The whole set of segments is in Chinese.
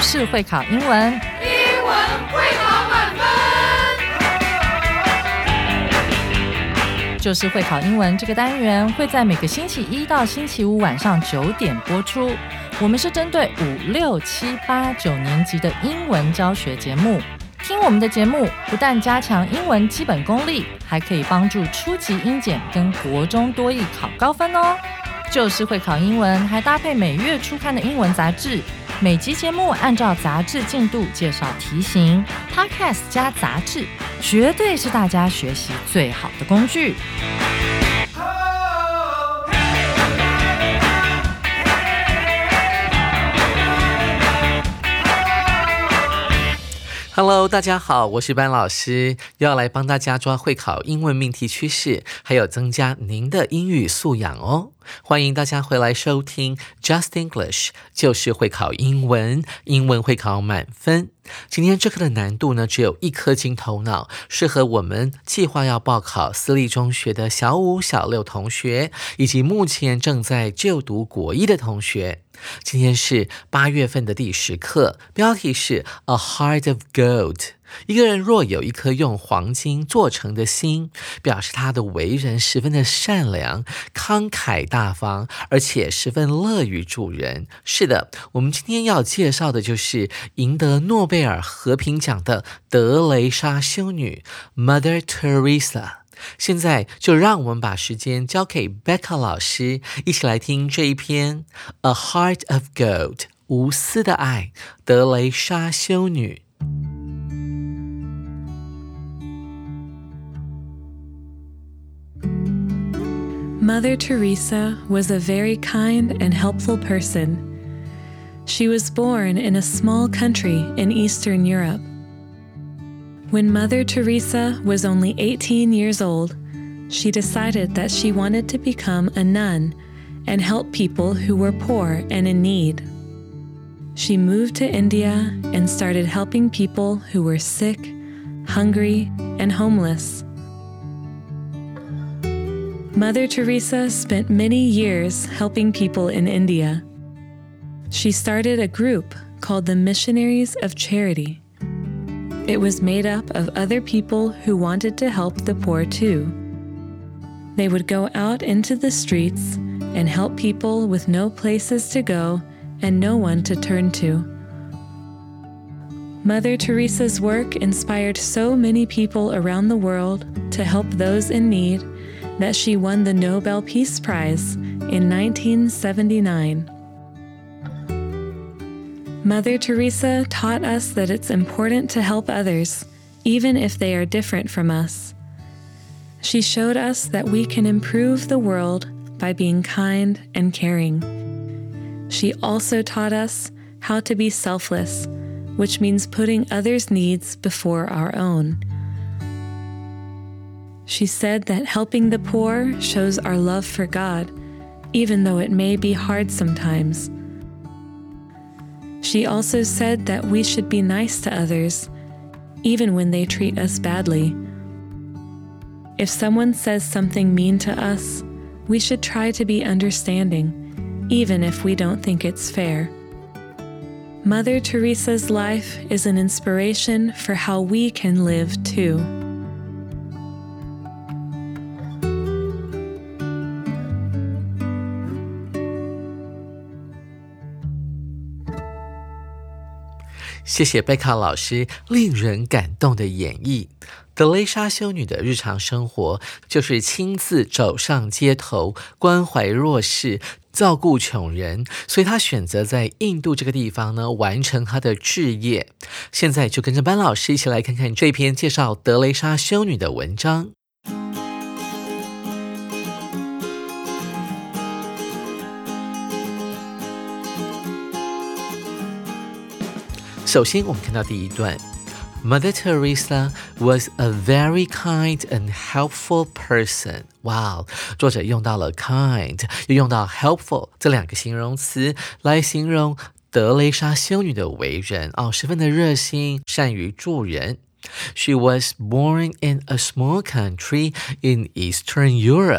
就是会考英文， 英文会考满分。 就是会考英文这个单元会在每个星期一到星期五晚上9点播出。我们是针对5、6、7、8、9年级的英文教学节目。听我们的节目，不但加强英文基本功力，还可以帮助初级英检跟国中多益考高分哦。就是会考英文，还搭配每月初刊的英文杂志。每集节目按照杂志进度介绍题型 ，Podcast 加杂志，绝对是大家学习最好的工具。 Hello， 大家好，我是班老师，又要来帮大家抓会考英文命题趋势，还有增加您的英语素养哦。欢迎大家回来收听 Just English， 就是会考英文，英文会考满分。今天这课的难度呢，只有1颗金头脑，适合我们计划要报考私立中学的小5、小6同学，以及目前正在就读国1的同学。今天是8月份的第10课，标题是 A Heart of Gold。一个人若有一颗用黄金做成的心，表示他的为人十分的善良、慷慨大方，而且十分乐于助人。是的，我们今天要介绍的就是赢得诺贝尔和平奖的德蕾莎修女 Mother Teresa。现在就让我们把时间交给 Becca 老师，一起来听这一篇 A Heart of Gold 无私的爱，德蕾莎修女。 Mother Teresa was a very kind and helpful person. She was born in a small country in Eastern Europe. When Mother Teresa was only 18 years old, she decided that she wanted to become a nun and help people who were poor and in need. She moved to India and started helping people who were sick, hungry, and homeless. Mother Teresa spent many years helping people in India. She started a group called the Missionaries of Charity. It was made up of other people who wanted to help the poor too. They would go out into the streets and help people with no places to go and no one to turn to. Mother Teresa's work inspired so many people around the world to help those in need that she won the Nobel Peace Prize in 1979. Mother Teresa taught us that it's important to help others, even if they are different from us. She showed us that we can improve the world by being kind and caring. She also taught us how to be selfless, which means putting others' needs before our own. She said that helping the poor shows our love for God, even though it may be hard sometimes. She also said that we should be nice to others, even when they treat us badly. If someone says something mean to us, we should try to be understanding, even if we don't think it's fair. Mother Teresa's life is an inspiration for how we can live too. 谢谢贝卡老师令人感动的演绎。德蕾莎修女的日常生活就是亲自走上街头，关怀弱势，照顾穷人，所以她选择在印度这个地方呢完成她的志业。现在就跟着班老师一起来看看这篇介绍德蕾莎修女的文章。首先我们看到第一段 Mother Teresa was a very kind and helpful person. 哇，作者用到了 kind 又用到 helpful 这2个形容词来形容德蕾莎修女的为人十分的热心，善于助人。She was born in a small country in Eastern Europe.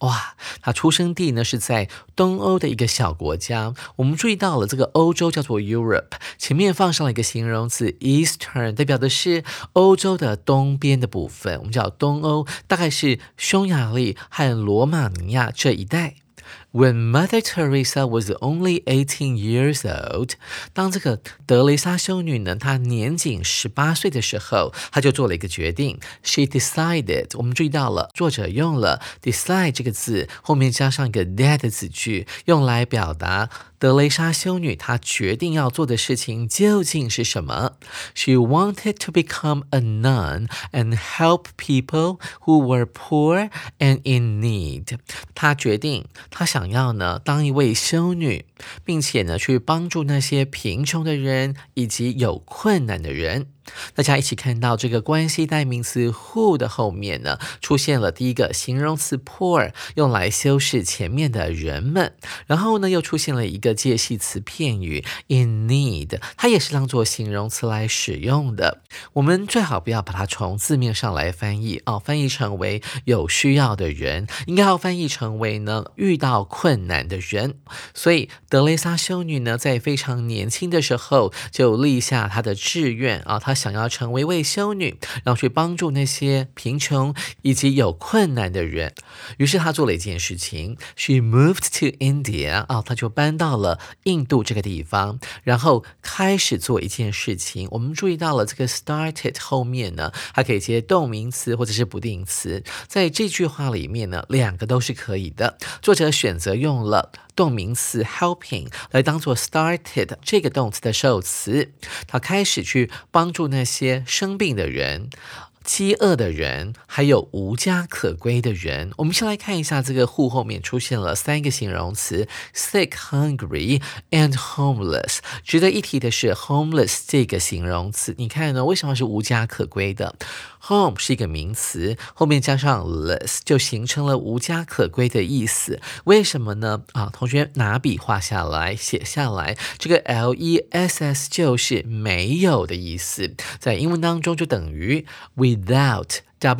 哇，他出生地呢是在东欧的一个小国家。我们注意到了这个欧洲叫做 Europe， 前面放上了一个形容词 Eastern， 代表的是欧洲的东边的部分，我们叫东欧，大概是匈牙利和罗马尼亚这一带。When Mother Teresa was only 18 years old， 当这个德雷莎修女呢，她年仅18岁的时候，她就做了一个决定。She decided， 我们注意到了，作者用了 decide 这个字，后面加上一个 that 的子句，用来表达德雷莎修女她决定要做的事情究竟是什么。She wanted to become a nun and help people who were poor and in need。她决定，她想要呢当一位修女，并且呢去帮助那些贫穷的人以及有困难的人。大家一起看到这个关系代名词 who 的后面呢，出现了第一个形容词 poor， 用来修饰前面的人们，然后呢又出现了一个介系词片语 in need， 它也是当作形容词来使用的。我们最好不要把它从字面上来翻译翻译成为有需要的人，应该要翻译成为呢遇到困难的人。所以德雷莎修女呢在非常年轻的时候就立下她的志愿她想要成为一位修女，然后去帮助那些贫穷以及有困难的人。于是她做了一件事情 She moved to India， 她就搬到了印度这个地方，然后开始做一件事情。我们注意到了这个 started 后面呢，它可以接动名词或者是不定词，在这句话里面呢，两个都是可以的。作者选择用了动名词 helping 来当做 started 这个动词的受词，他开始去帮助那些生病的人、饥饿的人，还有无家可归的人。我们先来看一下这个 who 后面出现了3个形容词 sick, hungry and homeless。 值得一提的是 homeless 这个形容词，你看呢，为什么是无家可归的？ home 是一个名词，后面加上 less 就形成了无家可归的意思。为什么呢？同学拿笔画下来写下来，这个 less 就是没有的意思，在英文当中就等于 without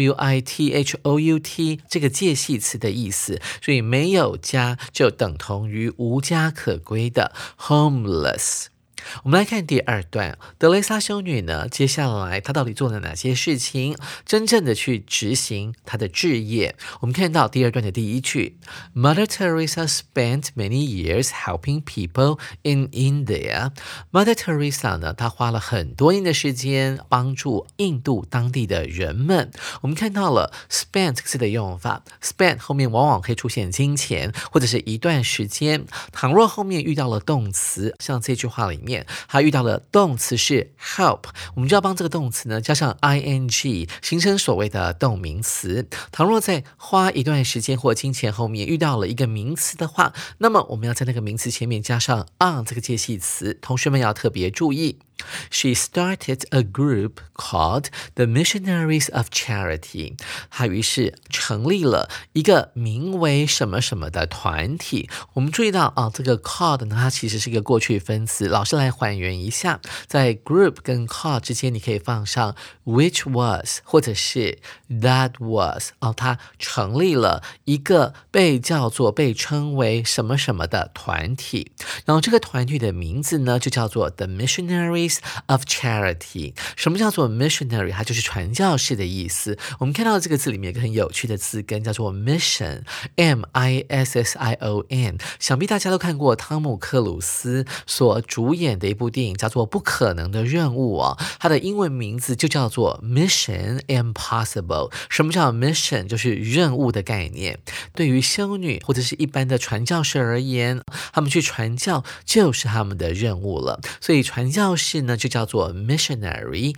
without 这个介系词的意思，所以没有家就等同于无家可归的 homeless。我们来看第二段，德雷莎修女呢，接下来她到底做了哪些事情，真正的去执行她的志业。我们看到第二段的第一句 Mother Teresa spent many years helping people in India。 Mother Teresa 呢，她花了很多年的时间帮助印度当地的人们。我们看到了 spent 这个字的用法， spent 后面往往可以出现金钱或者是一段时间。倘若后面遇到了动词，像这句话里面他遇到的动词是 help， 我们就要帮这个动词呢加上 ing， 形成所谓的动名词。倘若在花一段时间或金钱后面遇到了一个名词的话，那么我们要在那个名词前面加上 on 这个介系词，同学们要特别注意。She started a group called the Missionaries of Charity。 她于是成立了一个名为什么什么的团体。我们注意到这个 called 呢，它其实是一个过去分词。老师来还原一下，在 group 跟 called 之间，你可以放上 which was 或者是 that was。她成立了一个被称为什么什么的团体，然后这个团体的名字呢就叫做 the Missionaries of Charity。 什么叫做 missionary？ 它就是传教士的意思。我们看到这个字里面有一个很有趣的字根叫做 mission， M-I-S-S-I-O-N。 想必大家都看过汤姆克鲁斯所主演的一部电影叫做不可能的任务它的英文名字就叫做 Mission Impossible。 什么叫 mission？ 就是任务的概念。对于修女或者是一般的传教士而言，他们去传教就是他们的任务了。所以传教士呢就叫做 missionary，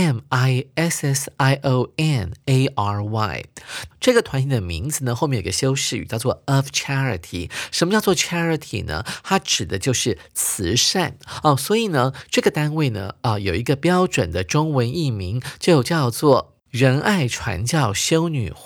M-I-S-S-I-O-N-A-R-Y。 这个团体的名字呢后面有个修饰语叫做 of charity。 什么叫做 charity 呢？它指的就是慈善所以呢这个单位呢有一个标准的中文译名，就叫做仁爱传教修女会。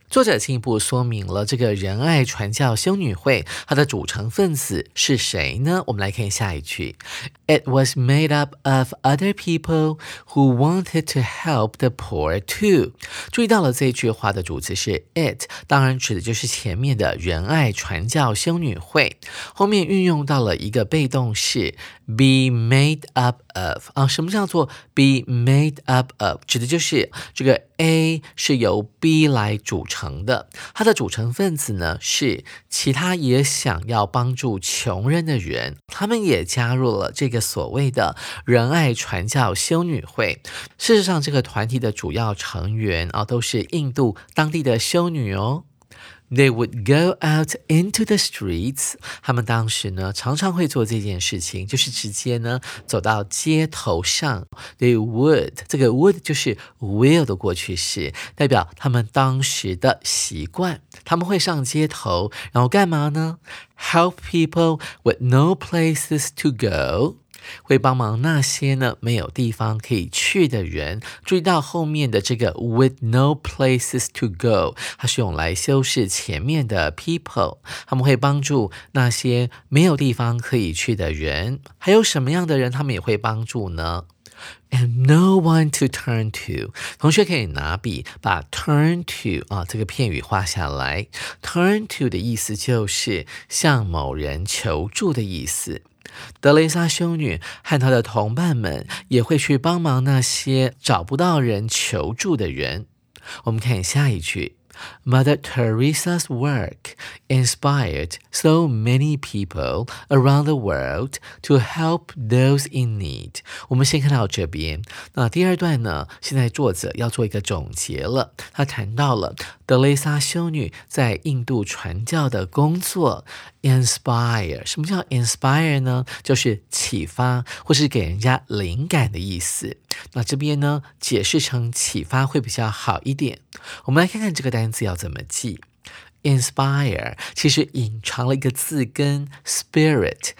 作者进一步说明了这个仁爱传教修女会它的组成分子是谁呢？我们来看下一句 It was made up of other people who wanted to help the poor too。 注意到了这句话的主词是 it， 当然指的就是前面的仁爱传教修女会，后面运用到了一个被动式 be made up of。 什么叫做 be made up of？ 指的就是这个 A 是由 B 来组成的，它的组成分子呢是其他也想要帮助穷人的人，他们也加入了这个所谓的仁爱传教修女会。事实上这个团体的主要成员都是印度当地的修女哦。They would go out into the streets。 他们当时呢常常会做这件事情，就是直接呢走到街头上。They would， 这个 would 就是 will 的过去式，代表他们当时的习惯。他们会上街头，然后干嘛呢？ Help people with no places to go。会帮忙那些呢没有地方可以去的人。注意到后面的这个 with no places to go， 它是用来修饰前面的 people， 他们会帮助那些没有地方可以去的人。还有什么样的人他们也会帮助呢？ And no one to turn to。 同学可以拿笔把 turn to 这个片语画下来。 Turn to 的意思就是向某人求助的意思。德蕾莎修女和她的同伴们也会去帮忙那些找不到人求助的人。我们看下一句Mother Teresa's work inspired so many people around the world to help those in need。 我们先看到这边，那第二段呢，现在作者要做一个总结了。他谈到了德蕾莎修女在印度传教的工作。Inspire， 什么叫 inspire 呢？就是启发或是给人家灵感的意思。那这边呢，解释成启发会比较好一点。我们来看看这个单词要怎么记。Inspire 其实隐藏了一个字根 spirit，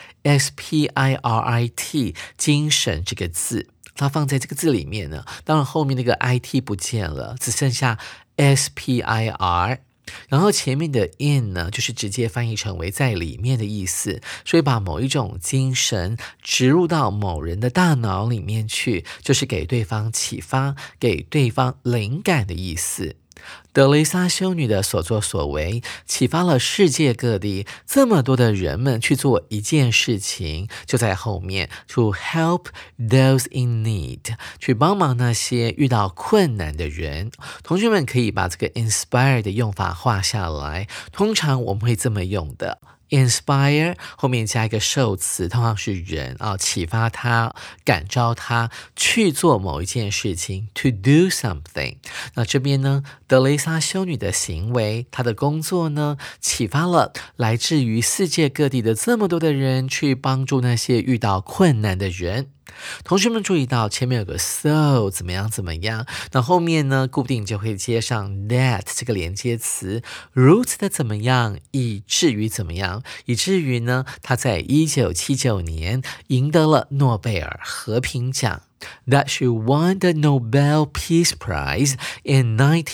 S-P-I-R-I-T， 精神这个字，它放在这个字里面呢，当然后面那个 I-T 不见了，只剩下 S-P-I-R。然后前面的 in 呢，就是直接翻译成为在里面的意思，所以把某一种精神植入到某人的大脑里面去，就是给对方启发，给对方灵感的意思。德蕾莎修女的所作所为启发了世界各地这么多的人们去做一件事情，就在后面 to help those in need， 去帮忙那些遇到困难的人。同学们可以把这个 inspire 的用法画下来，通常我们会这么用的。Inspire 后面加一个受词，通常是人启发他，感召他去做某一件事情 to do something。 那这边呢，德蕾莎修女的行为，她的工作呢，启发了来自于世界各地的这么多的人去帮助那些遇到困难的人。同学们注意到前面有个 so 怎么样怎么样，那后面呢固定就会接上 that 这个连接词，如此的怎么样，以至于怎么样，以至于呢他在1979年赢得了诺贝尔和平奖。That she won the Nobel Peace Prize in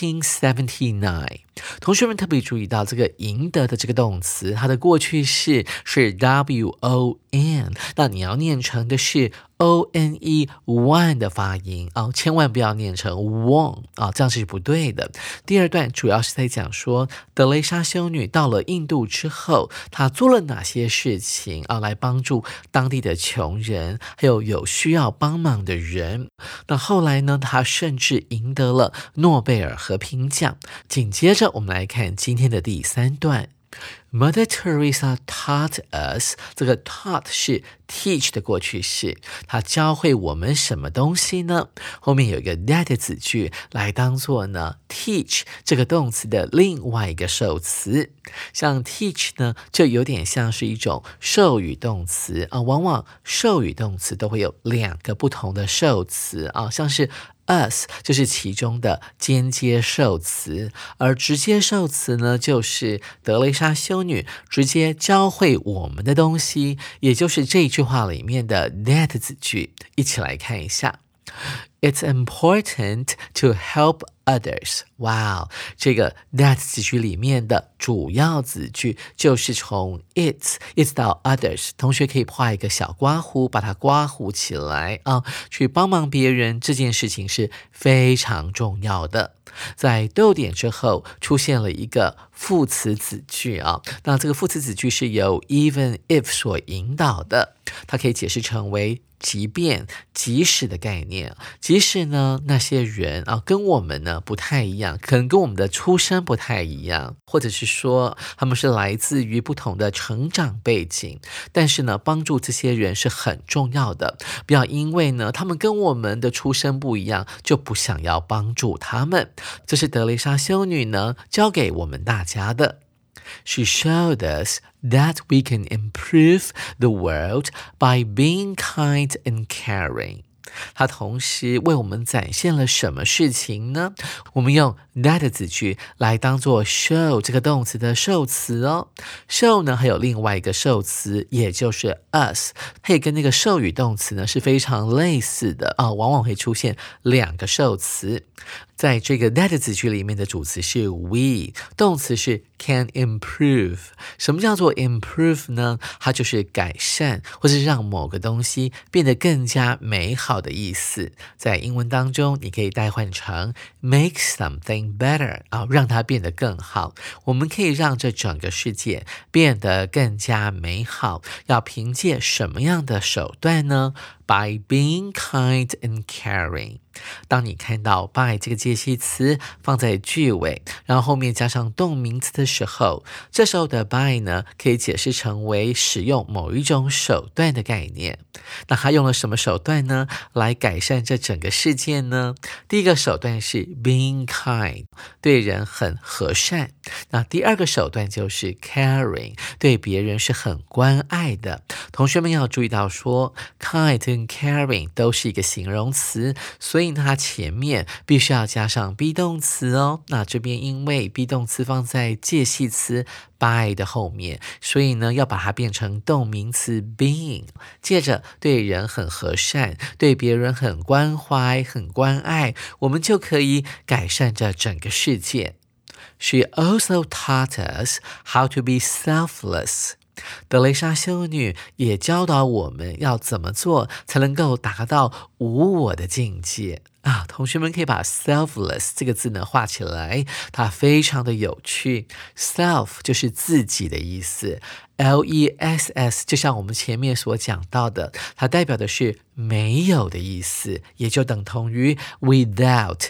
1979。 同学们特别注意到这个赢得的这个动词，它的过去式是 won， 那你要念成的是 one won 的发音千万不要念成 won 这样是不对的。第二段主要是在讲说德蕾莎修女到了印度之后，她做了哪些事情来帮助当地的穷人，还有需要帮忙的人。那后来呢，她甚至赢得了诺贝尔和平奖。紧接着我们来看今天的第三段。Mother Teresa taught us， 这个 taught 是 teach 的过去式，它教会我们什么东西呢？后面有一个 that 子句来当做呢 teach 这个动词的另外一个受词。像 teach 呢，就有点像是一种授予动词往往授予动词都会有两个不同的受词像是us 就是其中的间接受词，而直接受词呢，就是德蕾莎修女直接教会我们的东西，也就是这句话里面的 that 子句。一起来看一下。 It's important to help others. 哇，这个 that 子句里面的主要子句就是从 it 一直到 others， 同学可以画一个小刮弧，把它刮弧起来啊，去帮忙别人这件事情是非常重要的。在逗点之后出现了一个副词子句啊，那这个副词子句是由 even if 所引导的，它可以解释成为即便即使的概念。即使呢那些人啊跟我们呢不太一样，可能跟我们的出身不太一样，或者是说他们是来自于不同的成长背景，但是呢帮助这些人是很重要的，不要因为呢他们跟我们的出身不一样就不想要帮助他们。这是德蕾莎修女呢教给我们大家的。She showed us that we can improve the world by being kind and caring. 它同时为我们展现了什么事情呢？我们用 that 子句来当做 show 这个动词的受词哦。show 呢还有另外一个受词，也就是 us， 它也跟那个授予动词呢是非常类似的啊，往往会出现两个受词。在这个 that 子句里面的主词是 we， 动词是 can improve。 什么叫做 improve 呢？它就是改善或是让某个东西变得更加美好的意思。在英文当中你可以代换成 make something better， 让它变得更好。我们可以让这整个世界变得更加美好，要凭借什么样的手段呢？ By being kind and caring。 当你看到 by 这个介系词放在句尾，然后后面加上动名词的时候，这时候的 by 呢可以解释成为使用某一种手段的概念。那他用了什么手段呢来改善这整个事件呢？第一个手段是 being kind， 对人很和善。那第二个手段就是 caring， 对别人是很关爱的。同学们要注意到说 kind跟 caring 都是一个形容词，所以它前面必须要加上 be 动词哦。那这边因为 be 动词放在介系词 by 的后面，所以呢要把它变成动名词 being。 接着对人很和善，对别人很关怀很关爱，我们就可以改善这整个世界。 She also taught us how to be selfless。德蕾莎修女也教导我们要怎么做才能够达到无我的境界啊！同学们可以把 selfless 这个字呢画起来，它非常的有趣。self 就是自己的意思， less 就像我们前面所讲到的，它代表的是没有的意思，也就等同于 without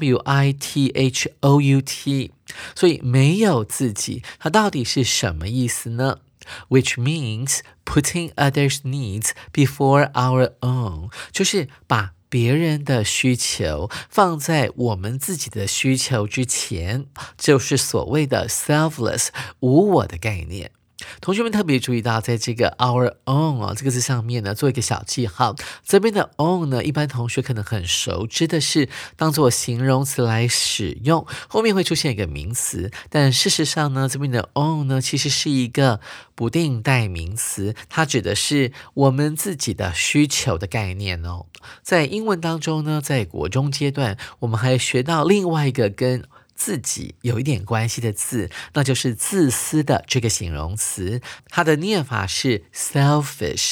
without。 所以没有自己，它到底是什么意思呢？Which means putting others' needs before our own， 就是把别人的需求放在我们自己的需求之前，就是所谓的 selfless 无我的概念。同学们特别注意到在这个 our own 这个字上面呢做一个小记号，这边的 own 呢一般同学可能很熟知的是当做形容词来使用，后面会出现一个名词，但事实上呢这边的 own 呢其实是一个不定代名词，它指的是我们自己的需求的概念哦。在英文当中呢，在国中阶段我们还学到另外一个跟自己有一点关系的字，那就是自私的这个形容词，它的念法是 selfish，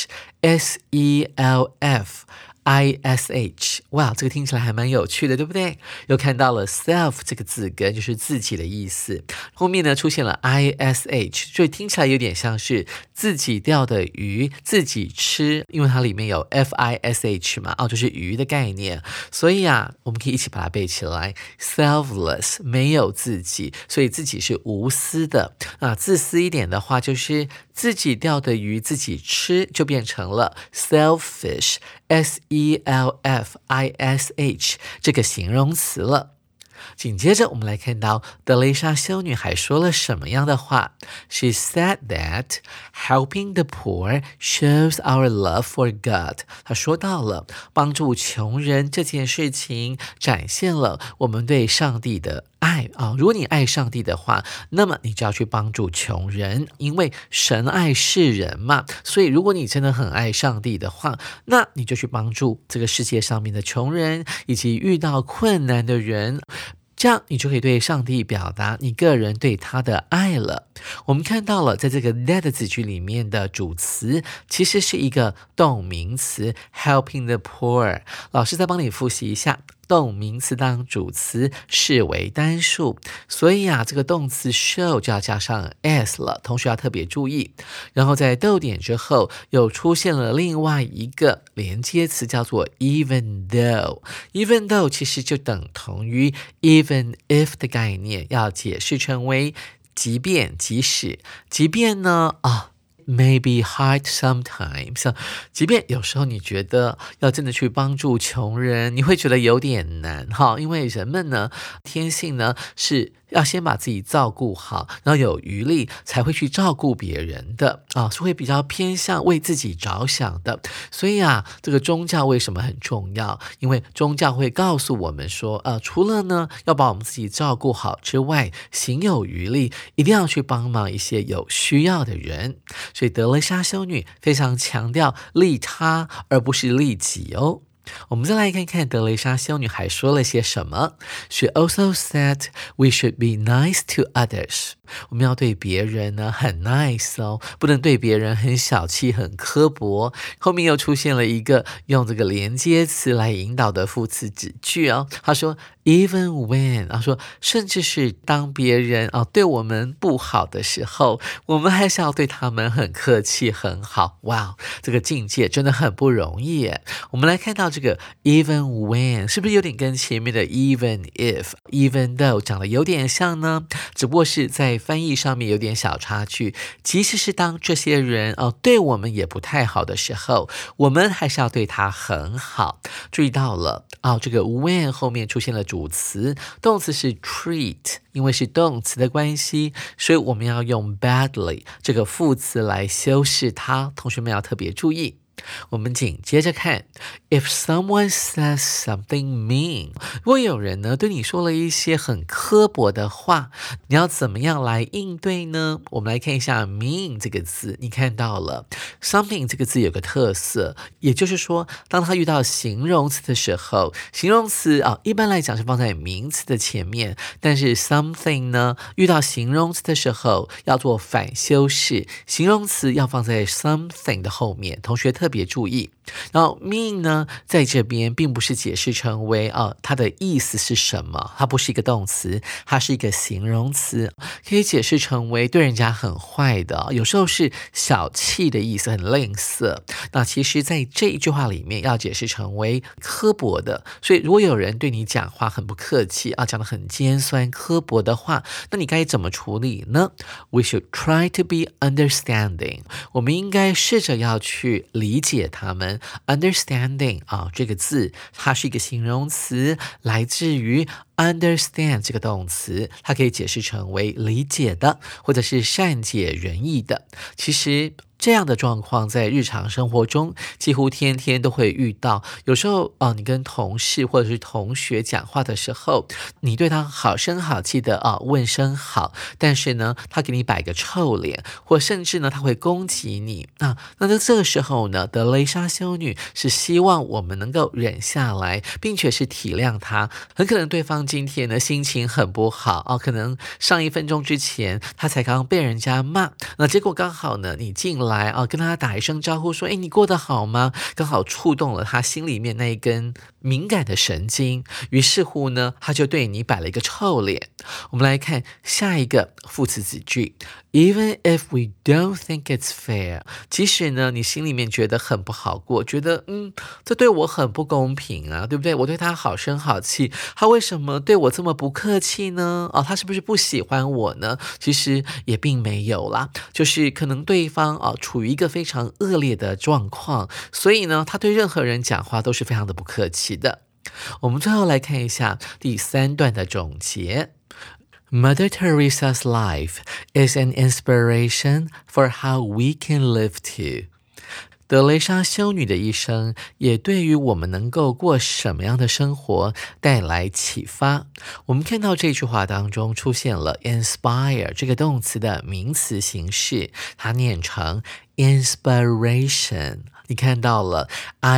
S-E-L-F-I-S-H。 哇，这个听起来还蛮有趣的，对不对？又看到了 self 这个字根，就是自己的意思，后面呢出现了 I-S-H， 所以听起来有点像是自己钓的鱼自己吃，因为它里面有 F-I-S-H 嘛，就是鱼的概念，所以啊我们可以一起把它背起来， selfless 没有自己，所以自己是无私的。那自私一点的话就是自己钓的鱼自己吃，就变成了 selfish， S-E-L-F-I-S-H 这个形容词了。紧接着我们来看到德蕾莎修女还说了什么样的话。 She said that helping the poor shows our love for God。 她说到了帮助穷人这件事情展现了我们对上帝的爱如果你爱上帝的话，那么你就要去帮助穷人，因为神爱世人嘛。所以如果你真的很爱上帝的话，那你就去帮助这个世界上面的穷人以及遇到困难的人，这样你就可以对上帝表达你个人对他的爱了。我们看到了在这个 that 子句里面的主词其实是一个动名词 helping the poor。 老师再帮你复习一下，动名词当主词视为单数，所以这个动词 show 就要加上 s 了，同学要特别注意。然后在逗点之后又出现了另外一个连接词叫做 even though。 even though 其实就等同于 even if 的概念，要解释成为即便即使。即便呢maybe hard sometimes， 即便有时候你觉得要真的去帮助穷人，你会觉得有点难因为人们呢天性呢是要先把自己照顾好，然后有余力才会去照顾别人的是会比较偏向为自己着想的。所以这个宗教为什么很重要？因为宗教会告诉我们说除了呢要把我们自己照顾好之外，行有余力一定要去帮忙一些有需要的人。所以德蕾莎修女非常强调利他而不是利己哦。我们再来看看德蕾莎修女还说了些什么。 She also said we should be nice to others。 我们要对别人呢很 nice 不能对别人很小气很刻薄。后面又出现了一个用这个连接词来引导的副词子句她说 even when， 她说甚至是当别人对我们不好的时候，我们还是要对他们很客气很好。哇，这个境界真的很不容易耶。我们来看到这个 even when 是不是有点跟前面的 even if even though 讲的有点像呢？只不过是在翻译上面有点小差距。即使是当这些人对我们也不太好的时候，我们还是要对他很好。注意到了这个 when 后面出现了主词，动词是 treat， 因为是动词的关系，所以我们要用 badly 这个副词来修饰它，同学们要特别注意。我们紧接着看 If someone says something mean， 如果有人呢对你说了一些很刻薄的话，你要怎么样来应对呢？我们来看一下 mean 这个字，你看到了 something 这个字有个特色，也就是说当它遇到形容词的时候，形容词一般来讲是放在名词的前面，但是 something 呢遇到形容词的时候要做反修饰，形容词要放在 something 的后面，同学特别注意。然后 mean 呢在这边并不是解释成为它的意思是什么，它不是一个动词，它是一个形容词，可以解释成为对人家很坏的，有时候是小气的意思，很吝啬。那其实在这一句话里面要解释成为刻薄的，所以如果有人对你讲话很不客气讲得很尖酸刻薄的话，那你该怎么处理呢？ We should try to be understanding， 我们应该试着要去理解他们。understanding 这个字它是一个形容词，来自于 understand 这个动词，它可以解释成为理解的，或者是善解人意的。其实这样的状况在日常生活中几乎天天都会遇到。有时候你跟同事或者是同学讲话的时候，你对他好声好气的问声好，但是呢他给你摆个臭脸，或甚至呢他会攻击你那在这个时候呢，德蕾莎修女是希望我们能够忍下来，并且是体谅他。很可能对方今天呢心情很不好可能上1分钟之前他才刚被人家骂，那结果刚好呢你进来跟他打一声招呼说你过得好吗，刚好触动了他心里面那一根敏感的神经，于是乎呢他就对你摆了一个臭脸。我们来看下一个副词子句 Even if we don't think it's fair， 即使呢你心里面觉得很不好过，觉得这对我很不公平对不对？我对他好声好气，他为什么对我这么不客气呢？他是不是不喜欢我呢？其实也并没有啦，就是可能对方处于一个非常恶劣的状况，所以呢他对任何人讲话都是非常的不客气的。我们最后来看一下第3段的总结。Mother Teresa's life is an inspiration for how we can live too。 德蕾莎修女的一生也对于我们能够过什么样的生活带来启发。我们看到这句话当中出现了 inspire 这个动词的名词形式，它念成 inspiration。你看到了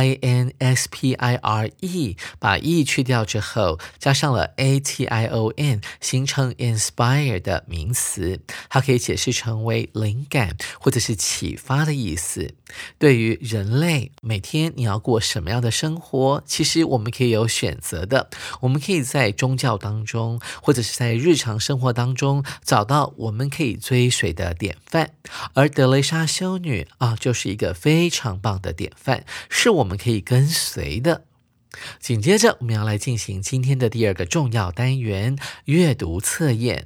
inspire， 把 e 去掉之后，加上了 ation， 形成 inspire 的名词，它可以解释成为灵感或者是启发的意思。对于人类每天你要过什么样的生活，其实我们可以有选择的，我们可以在宗教当中或者是在日常生活当中找到我们可以追随的典范，而德蕾莎修女就是一个非常棒的典范，是我们可以跟随的。紧接着我们要来进行今天的第二个重要单元，阅读测验。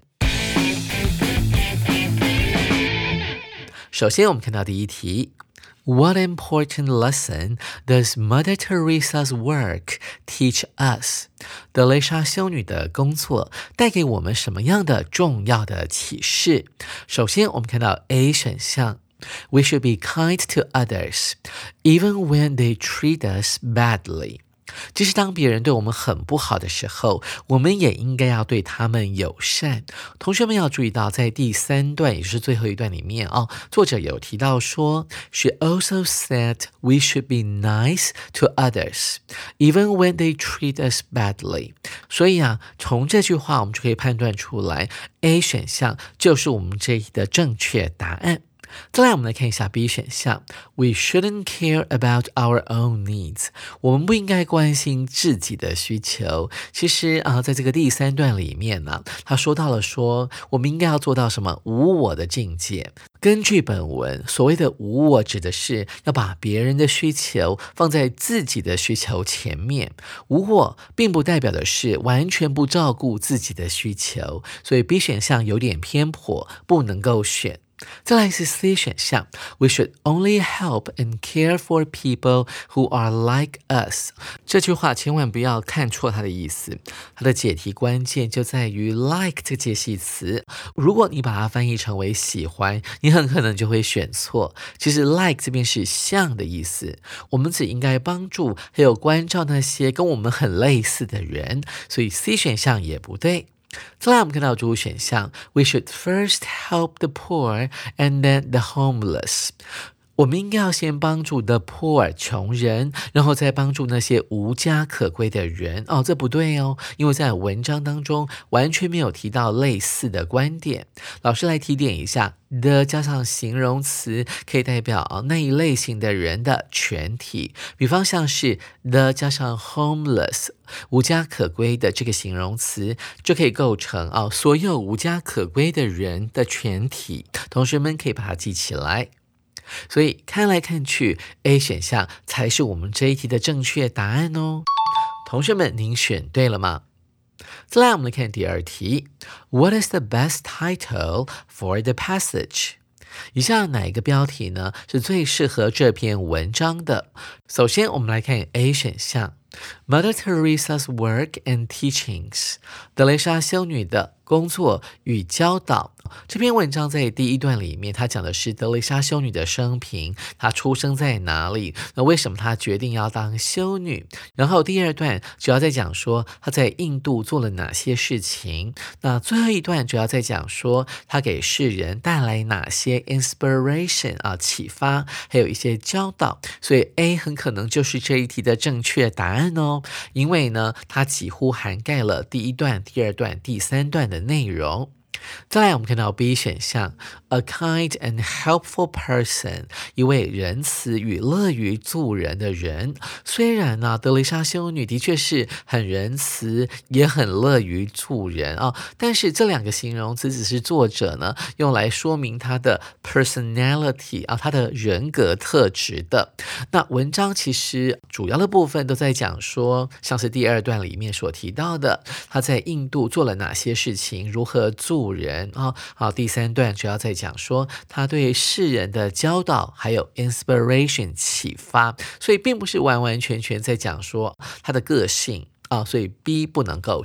首先我们看到第一题， What important lesson does Mother Teresa's work teach us? 德蕾莎修女的工作带给我们什么样的重要的启示？首先我们看到 A 选项， We should be kind to others, even when they treat us badly. 即使当别人对我们很不好的时候，我们也应该要对他们友善。同学们要注意到，在第3段，也就是最后一段里面作者有提到说 She also said we should be nice to others, even when they treat us badly. 所以从这句话我们就可以判断出来 A 选项就是我们这一题的正确答案。再来我们来看一下 B 选项， We shouldn't care about our own needs. 我们不应该关心自己的需求。其实在这个第3段里面他说到了说我们应该要做到什么无我的境界。根据本文，所谓的无我指的是要把别人的需求放在自己的需求前面。无我并不代表的是完全不照顾自己的需求，所以 B 选项有点偏颇，不能够选。再来是 C 选项， We should only help and care for people who are like us. 这句话千万不要看错它的意思，它的解题关键就在于 like 这个介系词。如果你把它翻译成为喜欢，你很可能就会选错。其实 like 这边是像的意思，我们只应该帮助还有关照那些跟我们很类似的人，所以 C 选项也不对。再来我们看到主选项 We should first help the poor and then the homeless. 我们应该要先帮助 the poor 穷人，然后再帮助那些无家可归的人。这不对因为在文章当中完全没有提到类似的观点。老师来提点一下， the 加上形容词可以代表那一类型的人的全体，比方像是 the 加上 homeless 无家可归的这个形容词就可以构成所有无家可归的人的全体。同学们可以把它记起来。所以看来看去 A 选项才是我们这一题的正确答案同学们您选对了吗？再来我们来看第二题， What is the best title for the passage? 以下哪一个标题呢是最适合这篇文章的？首先我们来看 A 选项， Mother Teresa's work and teachings. 德蕾莎修女的工作与教导。这篇文章在第1段里面，它讲的是德蕾莎修女的生平，她出生在哪里，那为什么她决定要当修女。然后第2段主要在讲说她在印度做了哪些事情，那最后一段主要在讲说她给世人带来哪些 inspiration 启发，还有一些教导。所以 A 很可能就是这一题的正确答案因为呢它几乎涵盖了第1段、第2段、第3段的内容。再来我们看到 B 选项， A kind and helpful person. 一位仁慈与乐于助人的人。虽然德蕾莎修女的确是很仁慈也很乐于助人但是这2个形容词只是作者呢用来说明她的 personality 她的人格特质的。那文章其实主要的部分都在讲说，像是第2段里面所提到的她在印度做了哪些事情，如何助人第3段主要在讲说他对世人的教导还有 inspiration 启发，所以并不是完完全全在讲说他的个性所以 B 不能够选。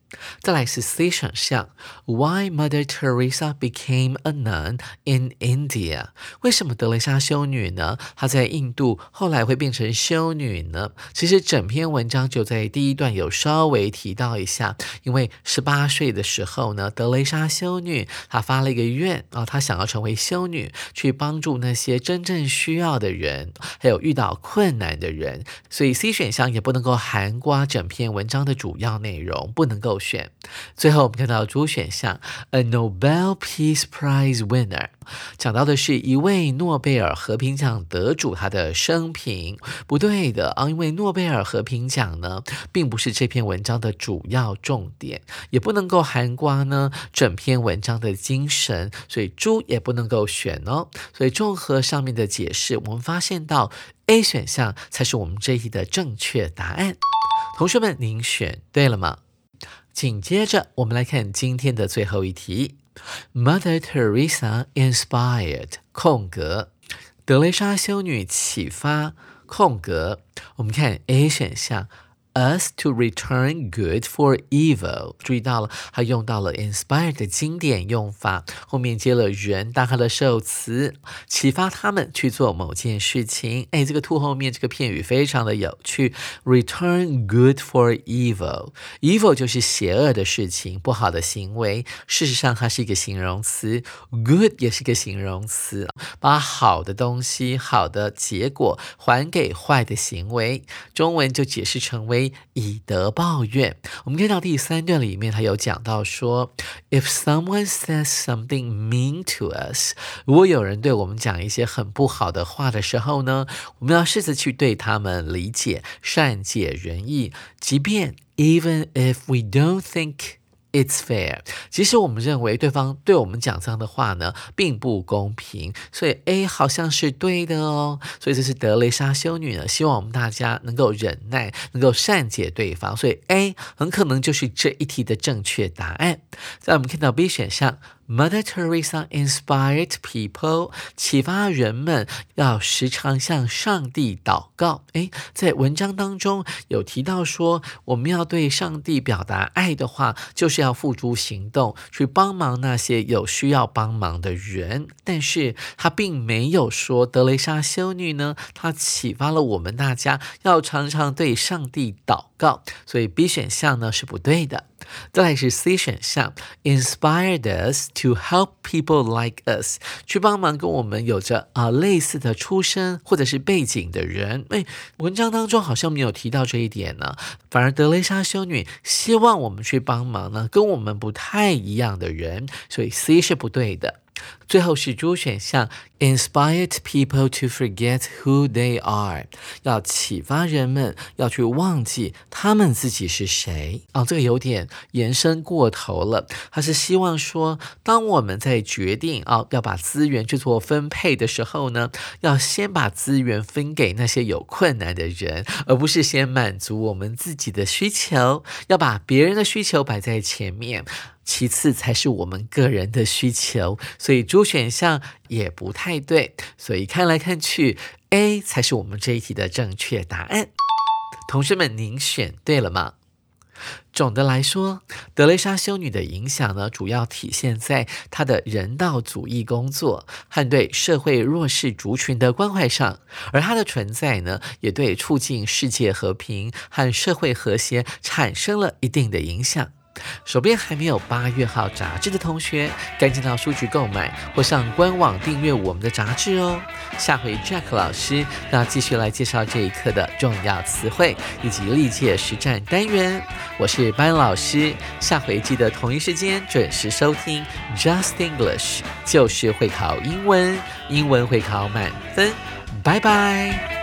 再来是 C 选项 Why Mother Teresa became a nun in India 为什么德蕾莎修女呢她在印度后来会变成修女呢？其实整篇文章就在第一段有稍微提到一下，因为18岁的时候呢，德蕾莎修女她发了一个愿她想要成为修女，去帮助那些真正需要的人，还有遇到困难的人，所以 C 选项也不能够涵盖整篇文章的主要内容，不能够选。最后我们看到主选项 A Nobel Peace Prize winner 讲到的是一位诺贝尔和平奖得主他的生平，不对的因为诺贝尔和平奖呢并不是这篇文章的主要重点，也不能够涵盖呢整篇文章的精神，所以猪也不能够选哦。所以综合上面的解释，我们发现到 A 选项才是我们这一题的正确答案。同学们，您选对了吗？紧接着我们来看今天的最后一题 Mother Teresa inspired 空格德蕾莎修女启发空格我们看 A 选项Us to return good for evil 注意到了它用到了 inspired 的经典用法，后面接了人当它的受词，启发他们去做某件事情。这个 to 后面这个片语非常的有趣， return good for evil evil 就是邪恶的事情，不好的行为，事实上它是一个形容词， good 也是一个形容词，把好的东西好的结果还给坏的行为，中文就解释成为以德报怨。我们看到第3段里面他有讲到说 If someone says something mean to us 如果有人对我们讲一些很不好的话的时候呢，我们要试着去对他们理解善解人意，即便 even if we don't think It's fair 即使我们认为对方对我们讲这样的话呢并不公平，所以 A 好像是对的哦。所以这是德蕾莎修女呢希望我们大家能够忍耐，能够善解对方，所以 A 很可能就是这一题的正确答案。再来我们看到 B 选项Mother Teresa inspired people 启发人们要时常向上帝祷告。在文章当中有提到说我们要对上帝表达爱的话，就是要付诸行动去帮忙那些有需要帮忙的人，但是他并没有说德蕾莎修女呢她启发了我们大家要常常对上帝祷告，所以 B 选项呢是不对的。再来是 C 选项 inspired us to help people like us 去帮忙跟我们有着类似的出身或者是背景的人。文章当中好像没有提到这一点呢，反而德蕾莎修女希望我们去帮忙呢跟我们不太一样的人，所以 C 是不对的。最后是猪选项 Inspired people to forget who they are 要启发人们要去忘记他们自己是谁。这个有点延伸过头了，他是希望说当我们在决定要把资源去做分配的时候呢，要先把资源分给那些有困难的人，而不是先满足我们自己的需求，要把别人的需求摆在前面，其次才是我们个人的需求，所以猪选项也不太对，所以看来看去 A 才是我们这一题的正确答案。同学们，您选对了吗？总的来说，德蕾莎修女的影响呢，主要体现在她的人道主义工作和对社会弱势族群的关怀上，而她的存在呢，也对促进世界和平和社会和谐产生了一定的影响。手边还没有8月号杂志的同学，赶紧到书局购买或上官网订阅我们的杂志哦。下回 Jack 老师要继续来介绍这一课的重要词汇以及历届实战单元。我是班老师，下回记得同一时间准时收听 Just English， 就是会考英文，英文会考满分。拜拜。